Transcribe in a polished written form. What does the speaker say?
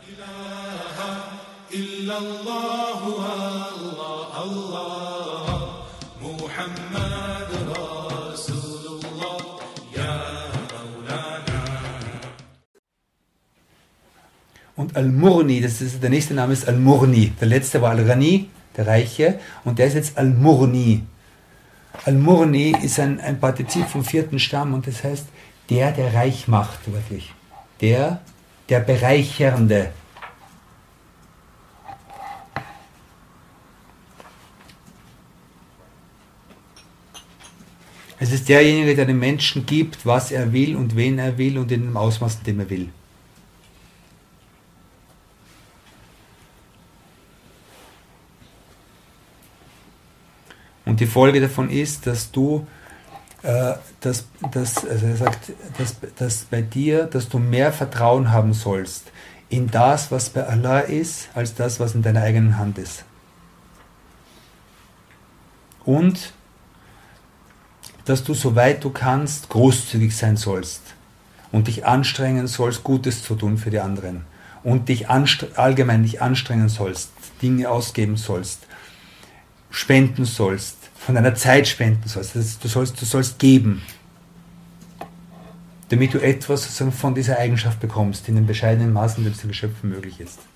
Und Al-Murni, der nächste Name ist Al-Murni. Der letzte war Al-Ghani, der Reiche, und der ist jetzt Al-Murni. Al-Murni ist ein Partizip vom 4. Stamm und das heißt, der reich macht, wirklich. Der Bereichernde. Es ist derjenige, der dem Menschen gibt, was er will und wen er will und in dem Ausmaß, in dem er will. Und die Folge davon ist, dass du, also er sagt, dass bei dir, dass du mehr Vertrauen haben sollst in das, was bei Allah ist, als das, was in deiner eigenen Hand ist. Und dass du, soweit du kannst, großzügig sein sollst und dich anstrengen sollst, Gutes zu tun für die anderen und dich allgemein dich anstrengen sollst, Dinge ausgeben sollst, spenden sollst, von deiner Zeit spenden sollst. Du sollst geben, damit du etwas sozusagen von dieser Eigenschaft bekommst, in dem bescheidenen Maß, in dem es den Geschöpfen möglich ist.